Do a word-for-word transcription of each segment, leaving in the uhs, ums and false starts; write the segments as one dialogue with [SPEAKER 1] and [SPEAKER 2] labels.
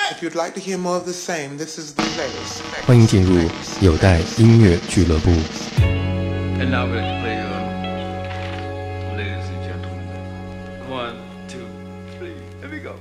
[SPEAKER 1] If you'd like to hear more of the same, this is the latest.
[SPEAKER 2] 欢迎进入有待音乐俱乐部。
[SPEAKER 3] And now we're to play, uh, ladies and gentlemen. One, two, three, here we go.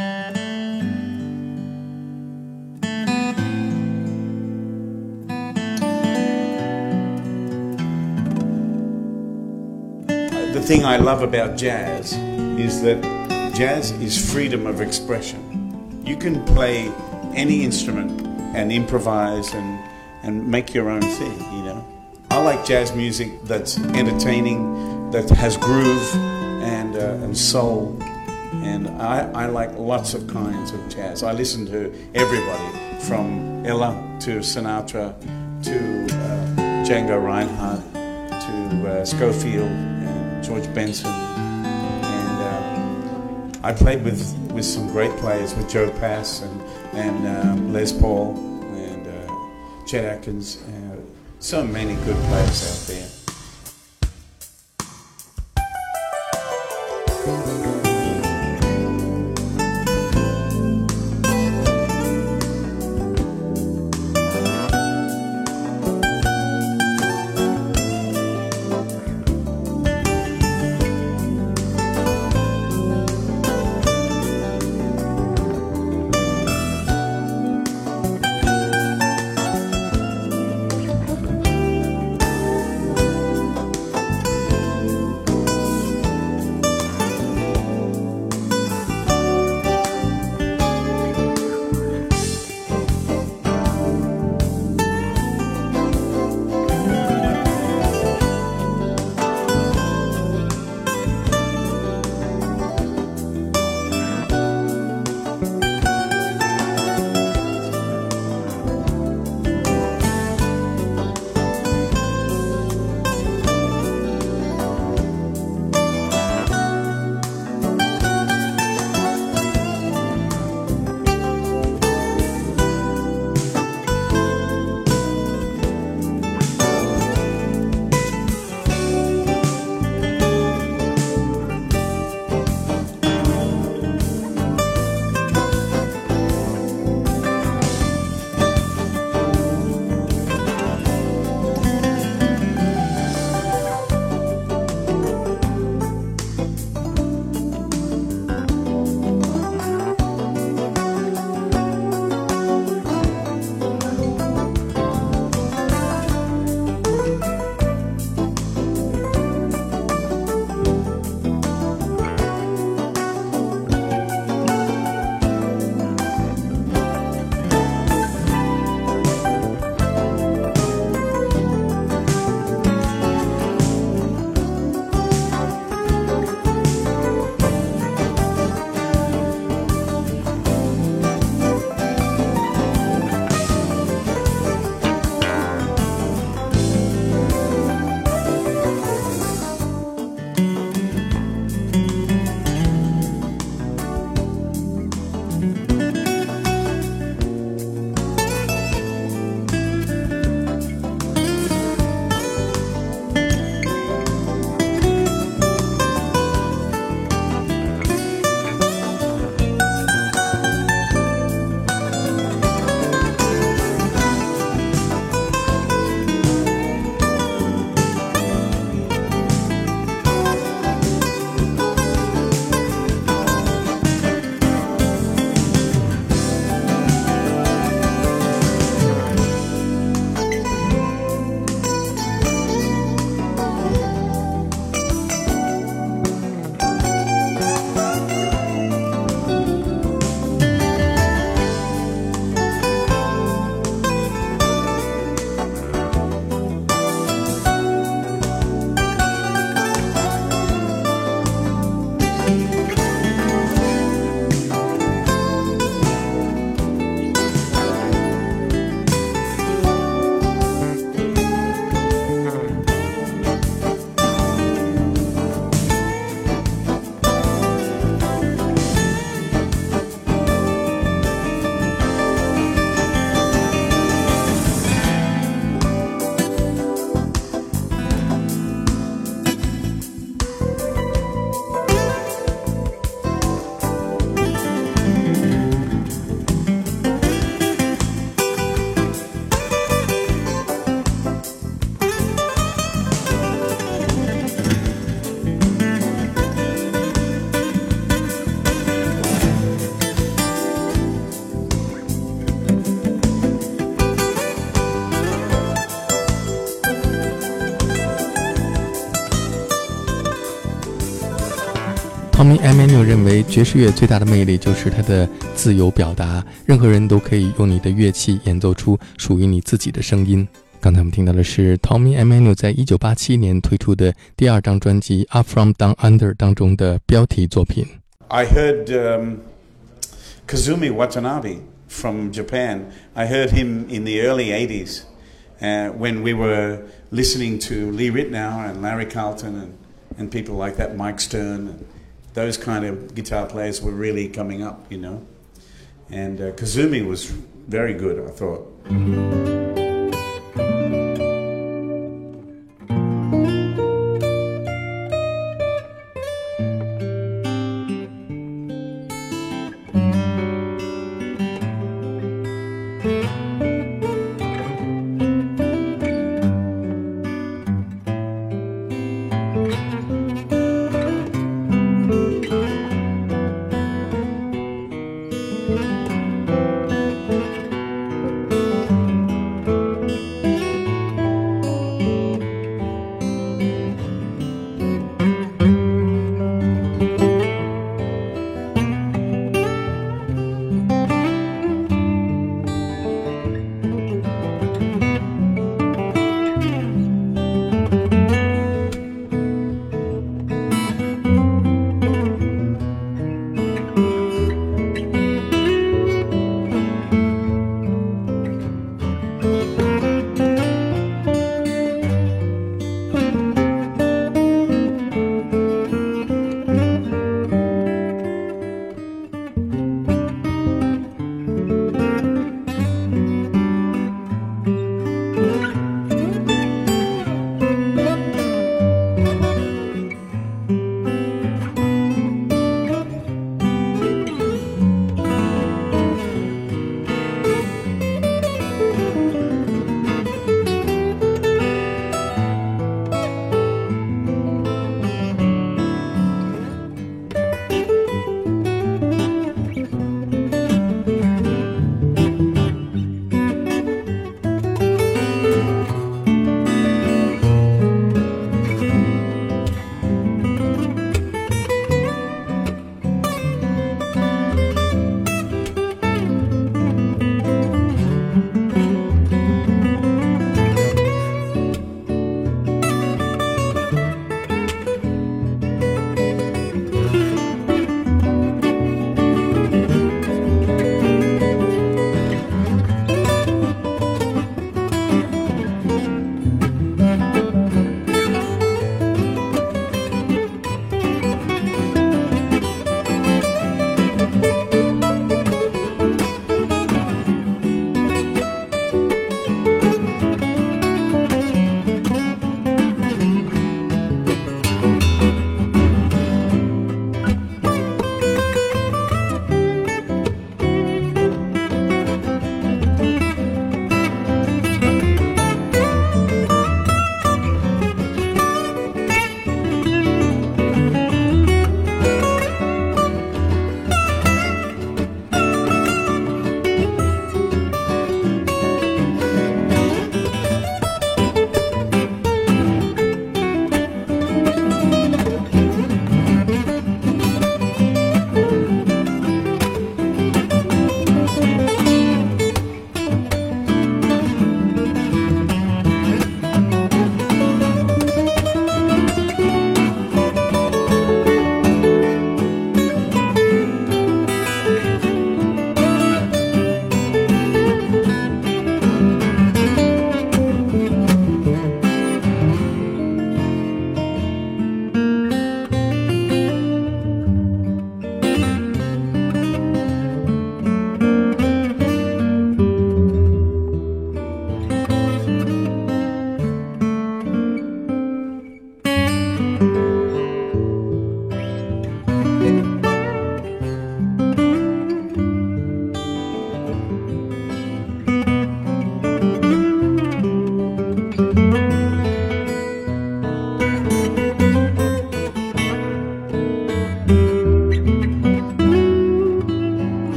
[SPEAKER 4] The thing I love about jazz is that jazz is freedom of expression. You can play any instrument and improvise and, and make your own thing, you know. I like jazz music that's entertaining, that has groove and, uh, and soul. And I, I like lots of kinds of jazz. I listen to everybody from Ella to Sinatra to uh, Django Reinhardt to uh, Scofield and George Benson. And uh, I played with, with some great players, with Joe Pass and, and um, Les Paul and uh, Chet Atkins. Uh, so many good players out there.
[SPEAKER 2] Tommy Emmanuel 认为爵士乐最大的魅力就是它的自由表达，任何人都可以用你的乐器演奏出属于你自己的声音。刚才我们听到的是 Tommy Emmanuel 在一九八七年推出的第二张专辑 Up From Down Under 当中的标题作品。
[SPEAKER 4] I heard um, Kazumi Watanabe from Japan. I heard him in the early eighties uh, when we were listening to Lee Ritenour and Larry Carlton and, and people like that, Mike Stern, and those kind of guitar players were really coming up, you know. And uh, Kazumi was very good, I thought.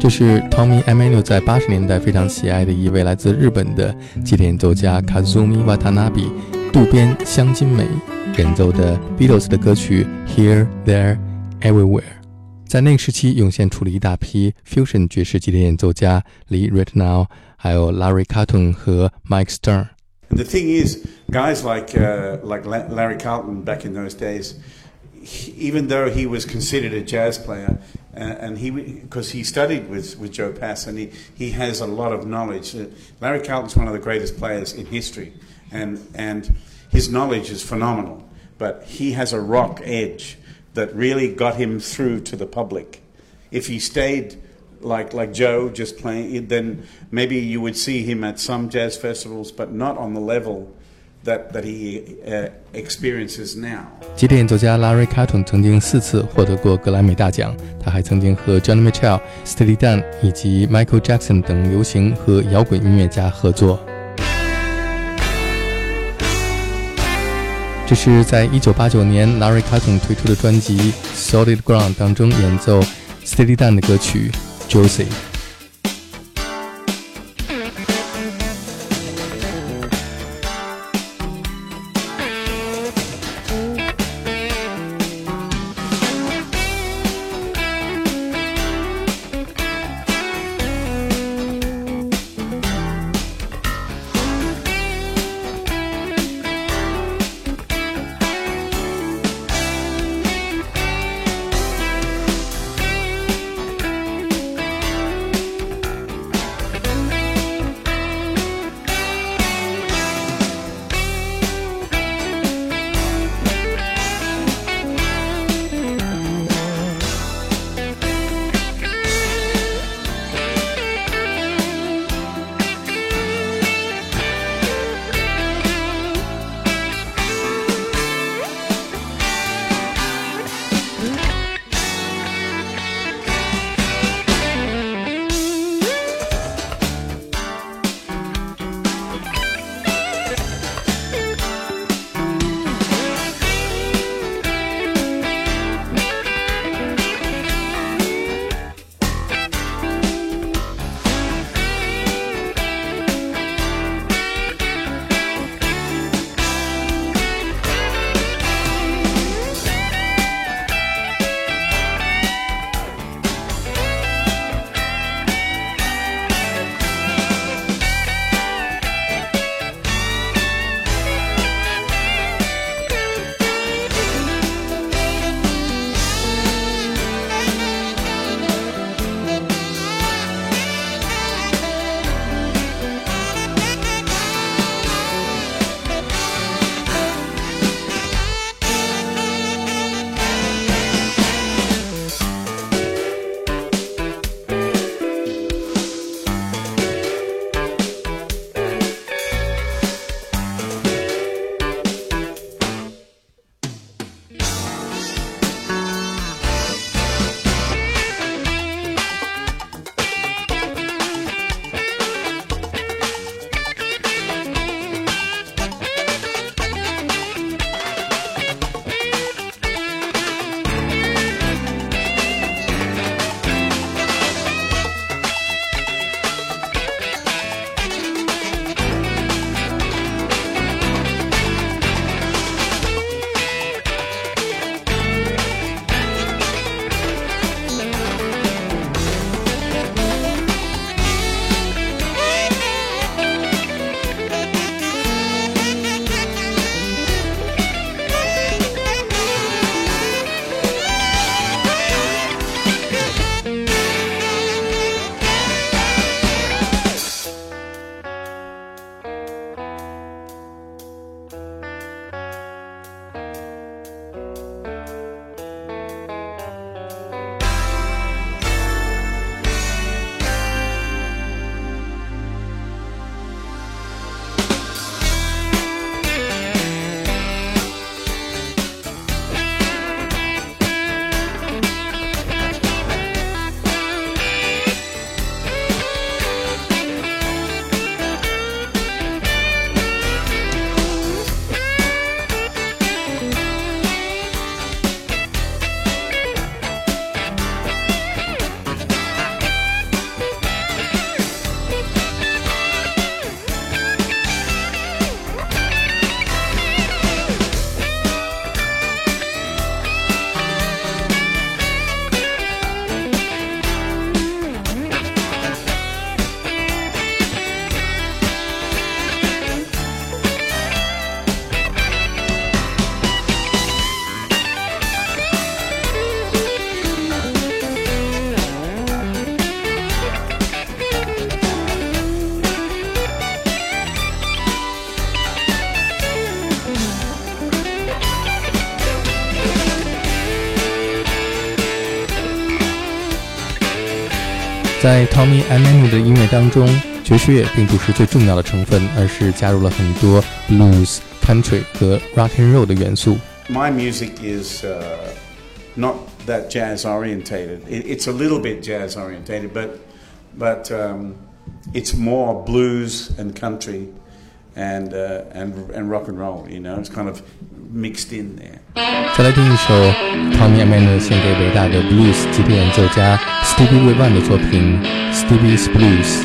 [SPEAKER 2] 这是 Tommy Emmanuel 在八十年代非常喜爱的一位来自日本的吉他演奏家 Kazumi Watanabe 渡边香津美演奏的 Beatles 的歌曲 Here, There, Everywhere。 在那个时期涌现出了一大批 fusion 爵士吉他演奏家，离 Ritenow 还有 Larry Carlton 和 Mike Stern。And
[SPEAKER 4] the thing is, guys like uh, like Larry Carlton back in those days, he, even though he was considered a jazz player, uh, and he because he studied with, with Joe Pass, and he, he has a lot of knowledge. Uh, Larry Carlton's one of the greatest players in history, and and his knowledge is phenomenal. But he has a rock edge that really got him through to the public. If he stayed like like Joe just playing, then maybe you would see him at some jazz festivals, but not on the level that that he uh, experiences now.
[SPEAKER 2] 吉他演奏家 Larry Carlton 曾经四次获得过格莱美大奖，他还曾经和 Johnny Mitchell、Steely Dan 以及 Michael Jackson 等流行和摇滚音乐家合作。这是在一九八九年 Larry Carlton 推出的专辑 Solid Ground 当中演奏 Steely Dan 的歌曲 Josie。 在 Tommy Emmanuel 的音乐当中，爵士乐并不是最重要的成分，而是加入了很多 blues、country 和 rock and roll 的元素。
[SPEAKER 4] My music is uh, not that jazz orientated. It, it's a little bit jazz orientated, but but um, it's more blues and country and uh, and and rock and roll. You know, it's kind of mixed in there.
[SPEAKER 2] 再来听一首 Tommy Emmanuel 献给伟大的 blues 吉他演奏家 Stevie Ray Vaughan 的作品 Stevie's Blues。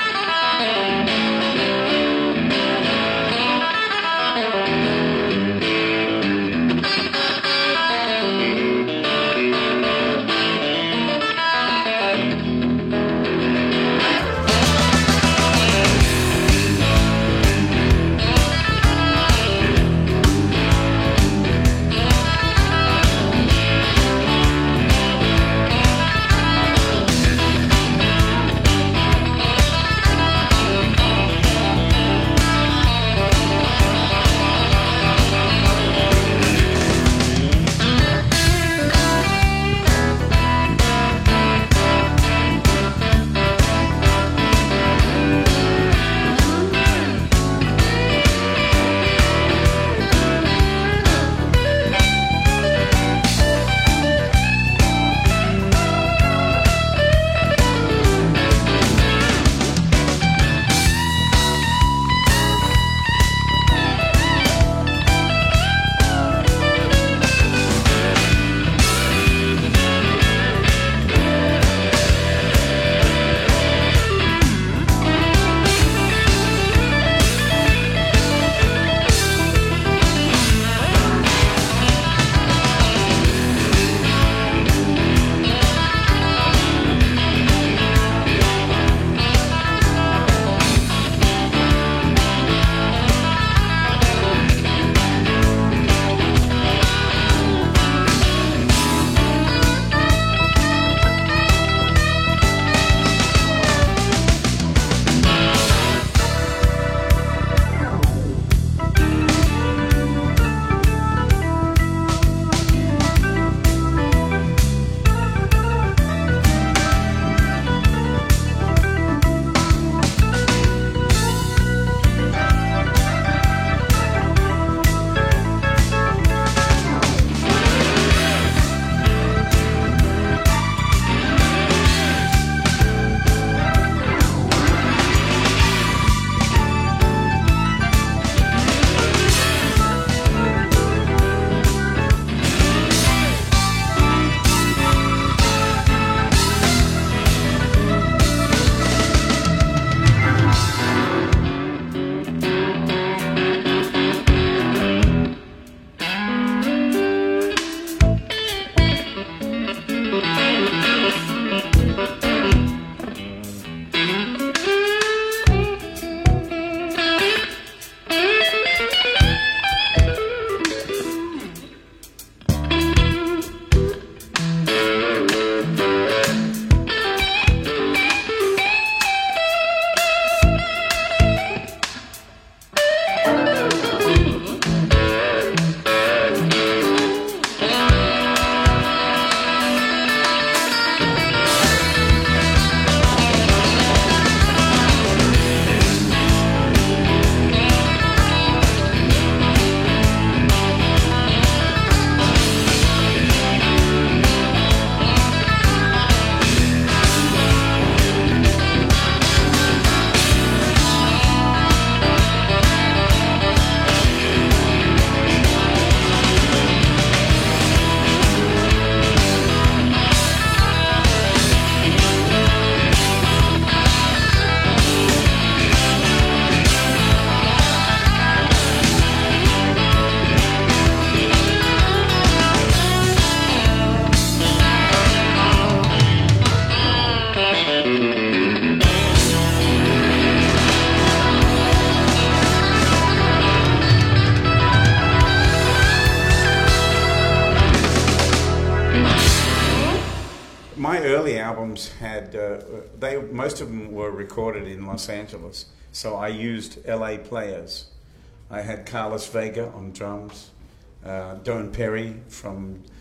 [SPEAKER 4] my early albums had, uh, they most of them were recorded in Los Angeles, so I used L A players. I had Carlos Vega on drums, uh, Don Perry from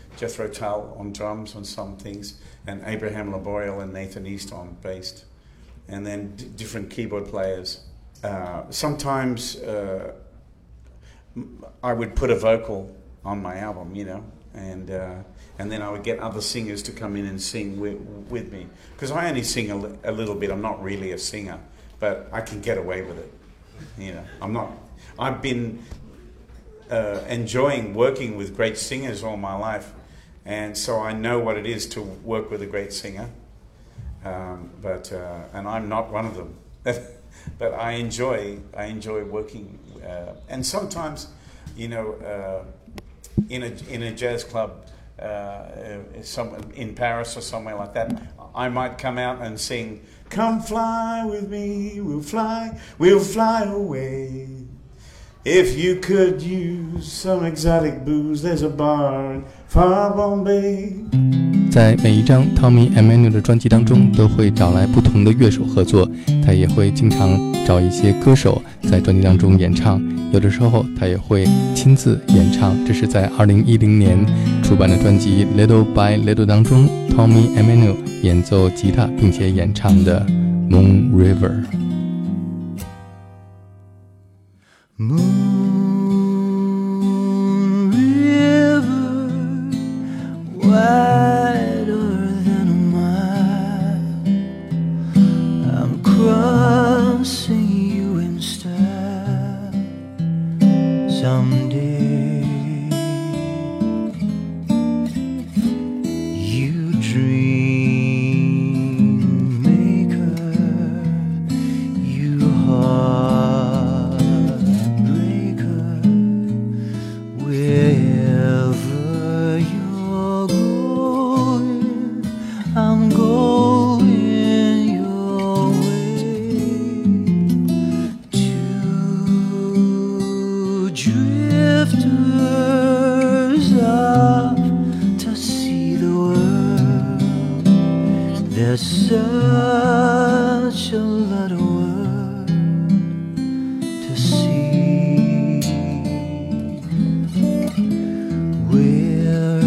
[SPEAKER 4] Jethro Tull on drums on some things, and Abraham Laboyle and Nathan East on bass, and then d- different keyboard players. Uh, sometimes uh, I would put a vocal on my album, you know, and uh, and then I would get other singers to come in and sing with, with me, because I only sing a, li- a little bit. I'm not really a singer, but I can get away with it, you know. I'm not. I've been uh, enjoying working with great singers all my life, and so I know what it is to work with a great singer. Um, but uh, and I'm not one of them. But I enjoy I enjoy working, uh, and sometimes, you know, uh, in a in a jazz club, uh, some in Paris or somewhere like that, I might come out and sing, "Come fly with me, we'll fly, we'll fly away. If you could use some exotic booze, there's a bar in far Bombay."
[SPEAKER 2] 在每一张 Tommy Emmanuel 的专辑当中，都会找来不同的乐手合作，他也会经常找一些歌手在专辑当中演唱，有的时候他也会亲自演唱。这是在二零一零年出版的专辑 Little by Little 当中 Tommy Emmanuel 演奏吉他并且演唱的 Moon River。
[SPEAKER 5] Moon River, wider than a mile, I'm crossing you in style someday. You dream maker, you heartbreaker, wherever you're going, I'm going your way. Two drifters off to see the world. There's such a lot of world to see. We're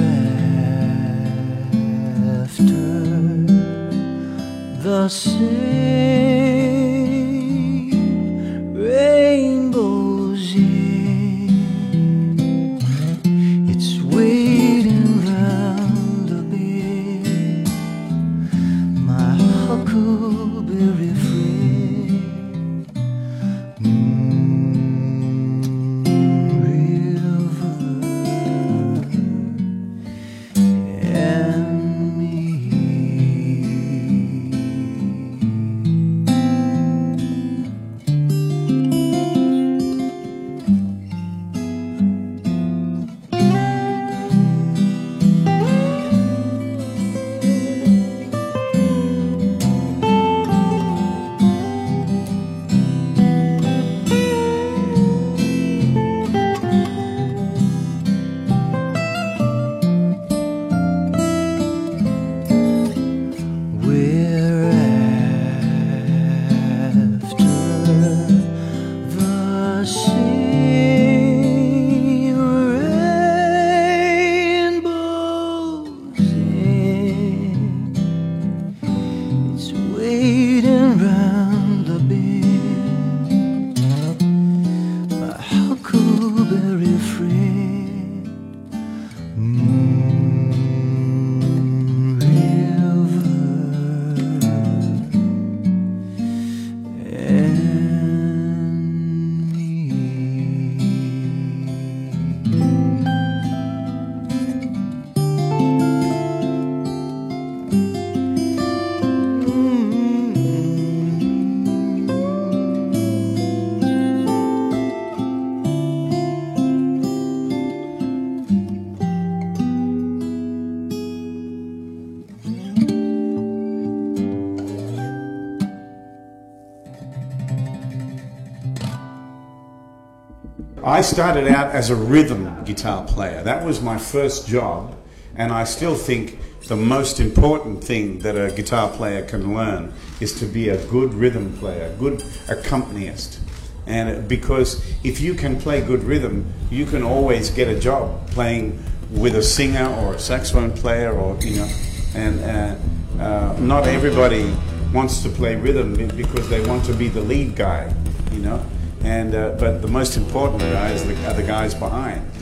[SPEAKER 5] after the same rainbows in. It's waiting round the bend, my huckleberry friend. Moon River and me. We're after the same rainbows in. It's waiting round the bend, my huckleberry friend. Moon River and me.
[SPEAKER 4] I started out as a rhythm guitar player. That was my first job, and I still think the most important thing that a guitar player can learn is to be a good rhythm player, a good accompanist. And because if you can play good rhythm, you can always get a job playing with a singer or a saxophone player, or you know, and uh, uh, not everybody wants to play rhythm because they want to be the lead guy, you know. And uh, but the most important guys are the, are the guys behind.